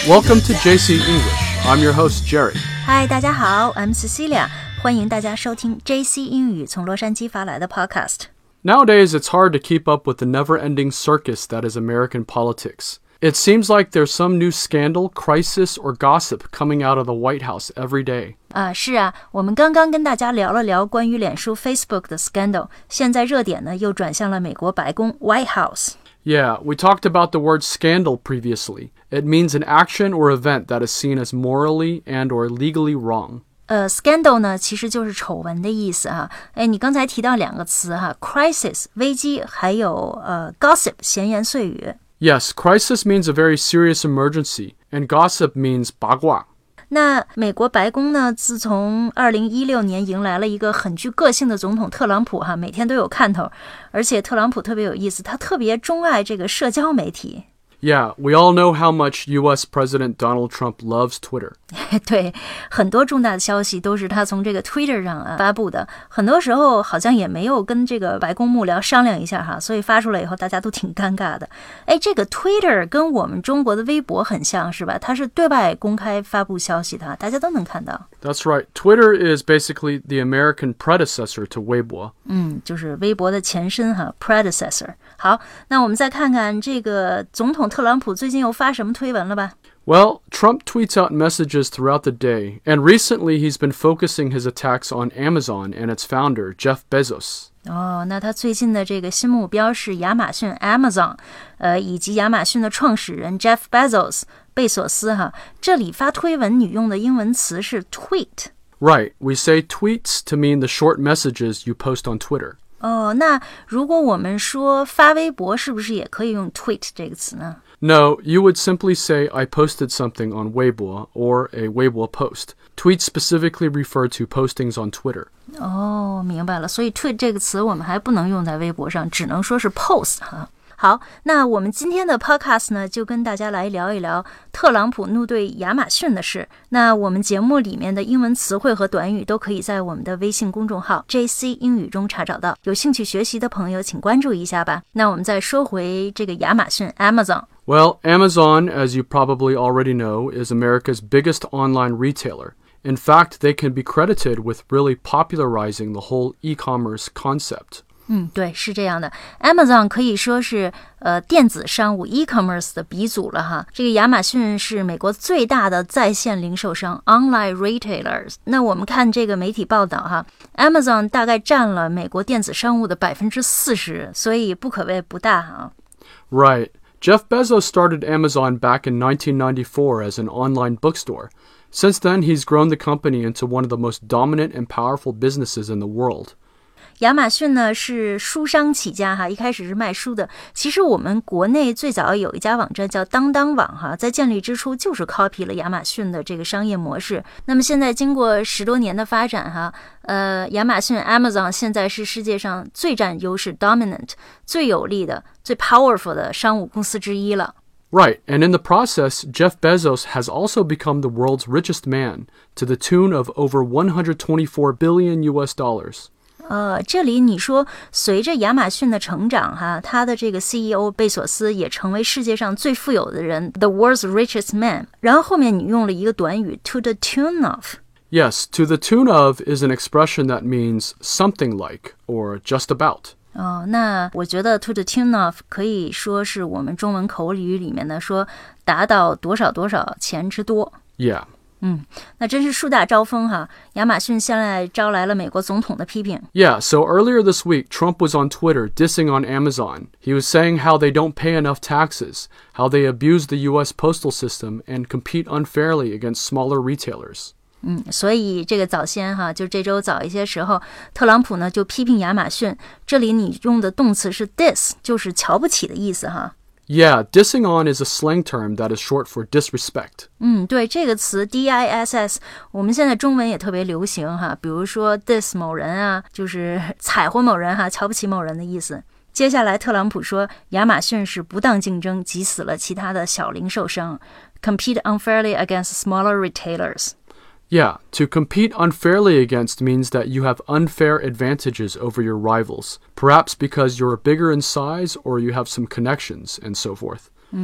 Welcome to JC English. I'm your host, Jerry. Hi, 大家好 I'm Cecilia. 欢迎大家收听 JC 英语从洛杉矶发来的 podcast. Nowadays, it's hard to keep up with the never-ending circus that is American politics. It seems like there's some new scandal, crisis, or gossip coming out of the White House every day. 是啊，我们刚刚跟大家聊了聊关于脸书 Facebook 的 scandal， 现在热点呢又转向了美国白宫 White House。Yeah, we talked about the word scandal previously. It means an action or event that is seen as morally and or legally wrong. Scandal 呢其实就是丑闻的意思哈。你刚才提到两个词哈 crisis 危机，还有gossip 闲言碎语。 Yes, crisis means a very serious emergency, and gossip means 八卦。 那美国白宫呢，自从2016年迎来了一个很具个性的总统特朗普哈，每天都有看头，而且特朗普特别有意思，他特别钟爱这个社交媒体。 Yeah, we all know how much U.S. President Donald Trump loves Twitter. 对，很多重大的消息都是他从这个 Twitter 上发布的，很多时候好像也没有跟这个白宫幕僚商量一下哈，所以发出来以后大家都挺尴尬的。这个 Twitter 跟我们中国的微博很像是吧？它是对外公开发布消息的，大家都能看到。 That's right. Twitter is basically the American predecessor to 微博。 就是微博的前身哈 ，predecessor。好，那我们再看看这个总统特朗普最近又发什么推文了吧 ？Well, Trump tweets out messages throughout the day, and recently he's been focusing his attacks on Amazon and its founder, Jeff Bezos. 那他最近的这个新目标是亚马逊 Amazon， 以及亚马逊的创始人 Jeff Bezos 贝索斯哈。这里发推文你用的英文词是 tweet。Right, we say tweets to mean the short messages you post on Twitter. 那如果我们说发微博，是不是也可以用 tweet 这个词呢 ？No, you would simply say, I posted something on Weibo or a Weibo post. Tweets specifically refer to postings on Twitter. 明白了。所以 tweet 这个词我们还不能用在微博上，只能说是 post 哈。好，那我们今天的 podcast 呢，就跟大家来聊一聊特朗普怒对亚马逊的事。那我们节目里面的英文词汇和短语都可以在我们的微信公众号 JC 英语中查找到，有兴趣学习的朋友请关注一下吧。那我们再说回这个亚马逊 Amazon。Well, Amazon, as you probably already know, is America's biggest online retailer. In fact, they can be credited with really popularizing the whole e-commerce concept. 对，是这样的。Amazon 可以说是电子商务 e-commerce 的鼻祖了哈。这个亚马逊是美国最大的在线零售商 online retailers。那我们看这个媒体报道哈 ，Amazon 大概占了美国电子商务的40%，所以不可谓不大哈。 Right. Jeff Bezos started Amazon back in 1994 as an online bookstore. Since then, he's grown the company into one of the most dominant and powerful businesses in the world. 亚马逊呢是书商起家哈，一开始是卖书的。其实我们国内最早有一家网站叫当当网哈，在建立之初就是 copy 了亚马逊的这个商业模式。那么现在经过10多年的发展哈，亚马逊 Amazon 现在是世界上最占优势 dominant 最有力的、最 powerful 的商务公司之一了。 Right, and in the process, Jeff Bezos has also become the world's richest man, to the tune of over $124 billion US dollars. 这里你说随着亚马逊的成长哈，他的这个 CEO 贝索斯也成为世界上最富有的人 the world's richest man， 然后后面你用了一个短语 to the tune of。Yes, to the tune of is an expression that means something like or just about. 那我觉得 to the tune of 可以说是我们中文口语里面的说达到多少多少钱之多。 Yeah. 那真是树大招风哈！亚马逊现在招来了美国总统的批评。 Yeah, so earlier this week, Trump was on Twitter dissing on Amazon. He was saying how they don't pay enough taxes, how they abuse the U.S. postal system and compete unfairly against smaller retailers. 所以这个早先哈，就这周早一些时候，特朗普呢就批评亚马逊。这里你用的动词是 diss， 就是瞧不起的意思哈。 Yeah, dissing on is a slang term that is short for disrespect. 对，这个词 diss 我们现在中文也特别流行哈，比如说 diss 某人啊，就是踩毁某人哈，瞧不起某人的意思。接下来特朗普说亚马逊是不当竞争，挤死了其他的小零售商 compete unfairly against smaller retailers。Yeah, to compete unfairly against means that you have unfair advantages over your rivals, perhaps because you're bigger in size or you have some connections and so forth.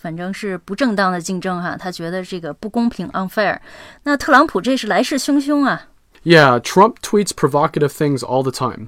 反正是不正当的竞争哈，他觉得这个不公平 unfair。那特朗普这是来势汹汹啊。 Yeah, Trump tweets provocative things all the time.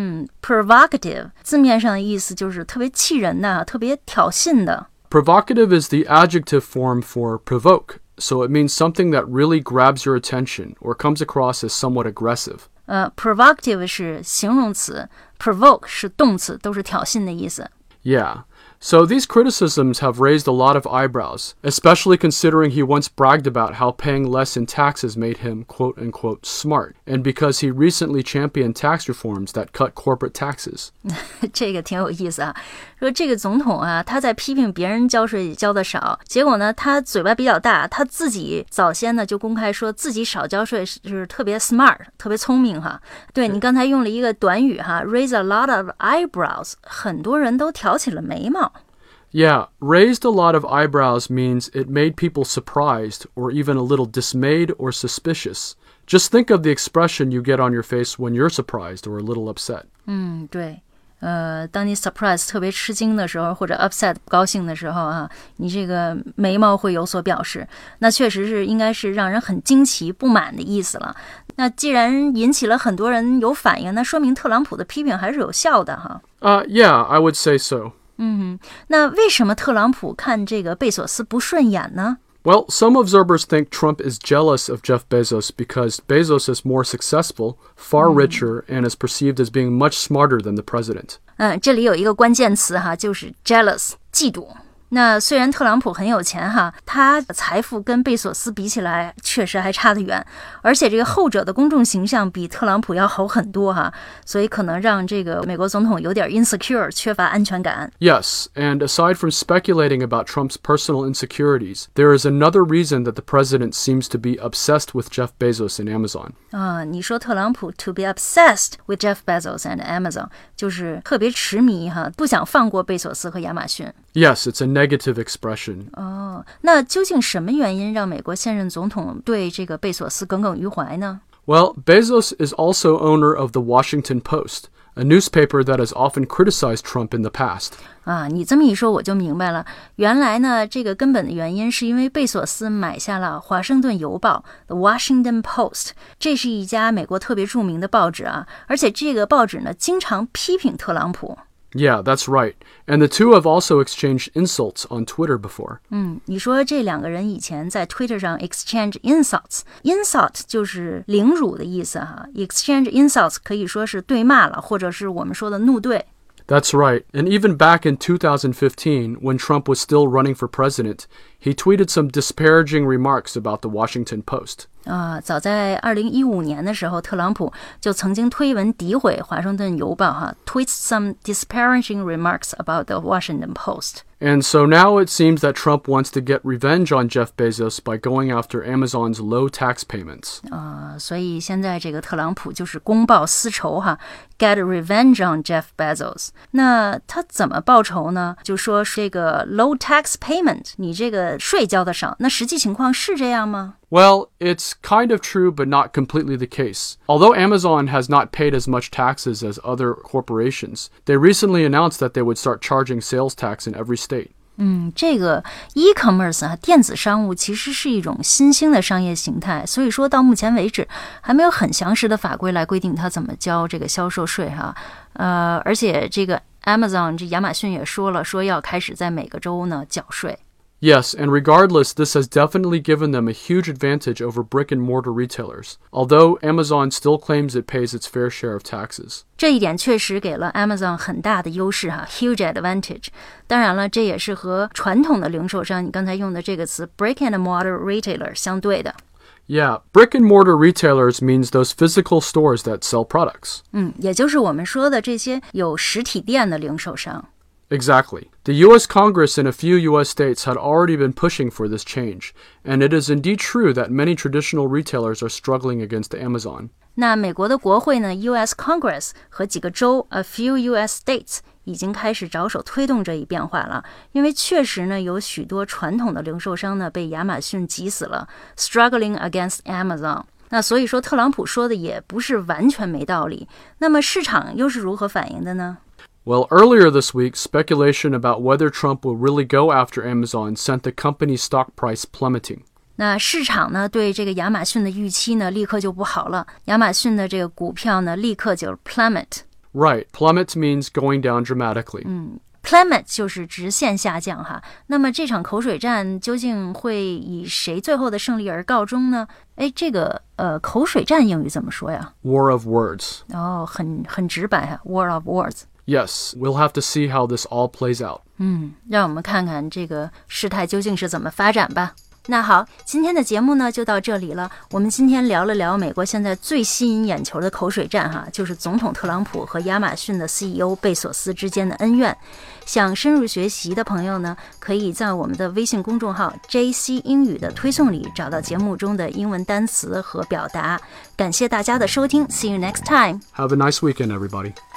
Provocative 字面上的意思就是特别气人的，特别挑衅的。 Provocative is the adjective form for provoke, so it means something that really grabs your attention or comes across as somewhat aggressive. Provocative 是形容词 ，provoke 是动词，都是挑衅的意思。 Yeah. So these criticisms have raised a lot of eyebrows, especially considering he once bragged about how paying less in taxes made him quote-unquote smart, and because he recently championed tax reforms that cut corporate taxes. 这个挺有意思啊，说这个总统啊，他在批评别人交税交的少，结果呢，他嘴巴比较大，他自己早先呢就公开说自己少交税是特别 smart， 特别聪明哈。对，你刚才用了一个短语哈 ，raise a lot of eyebrows， 很多人都挑起了眉毛。 Yeah, raised a lot of eyebrows means it made people surprised or even a little dismayed or suspicious. Just think of the expression you get on your face when you're surprised or a little upset. 对。当你 surprise 特别吃惊的时候，或者 upset 不高兴的时候啊，你这个眉毛会有所表示，那确实是应该是让人很惊奇、不满的意思了。那既然引起了很多人有反应，那说明特朗普的批评还是有效的哈。 Yeah, I would say so. 那为什么特朗普看这个贝索斯不顺眼呢？ Well, some observers think Trump is jealous of Jeff Bezos because Bezos is more successful, far richer, and is perceived as being much smarter than the president. 这里有一个关键词哈，就是 jealous， 嫉妒。那虽然特朗普很有钱哈，他的财富跟贝索斯比起来确实还差得远，而且这个后者的公众形象比特朗普要好很多哈，所以可能让这个美国总统有点 insecure， 缺乏安全感。 Yes, and aside from speculating about Trump's personal insecurities, there is another reason that the president seems to be obsessed with Jeff Bezos and Amazon. 你说特朗普 to be obsessed with Jeff Bezos and Amazon， 就是特别痴迷哈，不想放过贝索斯和亚马逊。 Yes, it's a negative expression. 那究竟什么原因让美国现任总统对这个贝索斯耿耿于怀呢？ Well, Bezos is also owner of the Washington Post, a newspaper that has often criticized Trump in the past. 你这么一说我就明白了，原来呢这个根本的原因是因为贝索斯买下了华盛顿邮报 The Washington Post， 这是一家美国特别著名的报纸啊，而且这个报纸呢经常批评特朗普。 Yeah, that's right. And the two have also exchanged insults on Twitter before. 你说这两个人以前在 Twitter 上 exchange insults，insult 就是凌辱的意思哈 ，exchange insults 可以说是对骂了，或者是我们说的怒对。 That's right. And even back in 2015, when Trump was still running for president, he tweeted some disparaging remarks about the Washington Post. 早在2015年的时候，特朗普就曾经推文诋毁华盛顿邮报哈 ，tweets some disparaging remarks about the Washington Post. And so now it seems that Trump wants to get revenge on Jeff Bezos by going after Amazon's low tax payments. 所以现在这个特朗普就是公报私仇哈 ，get revenge on Jeff Bezos. 那他怎么报仇呢？就说这个 low tax payment， 你这个税交的少，那实际情况是这样吗 ？Well, it's kind of true, but not completely the case. Although Amazon has not paid as much taxes as other corporations, they recently announced that they would start charging sales tax in every state. 这个 e-commerce 啊，电子商务其实是一种新兴的商业形态，所以说到目前为止还没有很详实的法规来规定它怎么交这个销售税哈。而且这个 Amazon 这亚马逊也说了，说要开始在每个州呢缴税。 Yes, and regardless, this has definitely given them a huge advantage over brick-and-mortar retailers, although Amazon still claims it pays its fair share of taxes. 这一点确实给了 Amazon 很大的优势哈 ，huge advantage。当然了，这也是和传统的零售商，你刚才用的这个词 brick-and-mortar retailer 相对的。 Yeah, brick-and-mortar retailers means those physical stores that sell products. 也就是我们说的这些有实体店的零售商。 Exactly. The U.S. Congress and a few U.S. states had already been pushing for this change, and it is indeed true that many traditional retailers are struggling against Amazon. 那美国的国会呢 ，U.S. Congress 和几个州 ，a few U.S. states 已经开始着手推动这一变化了，因为确实呢，有许多传统的零售商呢被亚马逊挤死了 ，struggling against Amazon。那所以说，特朗普说的也不是完全没道理。那么市场又是如何反应的呢 Well, earlier this week, speculation about whether Trump will really go after Amazon sent the company's stock price plummeting. 那市场呢对这个亚马逊的预期呢立刻就不好了，亚马逊的这个股票呢立刻就 plummet。Right, plummet means going down dramatically. Plummet 就是直线下降哈。那么这场口水战究竟会以谁最后的胜利而告终呢？这个口水战英语怎么说呀？ War of words. 很直白哈 ，War of words。Yes, we'll have to see how this all plays out. 让我们看看这个事态究竟是怎么发展吧。那好，今天的节目呢就到这里了。我们今天聊了聊美国现在最吸引眼球的口水战哈，就是总统特朗普和亚马逊的 CEO 贝索斯之间的恩怨。想深入学习的朋友呢，可以在我们的微信公众号 JC 英语的推送里找到节目中的英文单词和表达。感谢大家的收听 ，See you next time. Have a nice weekend, everybody.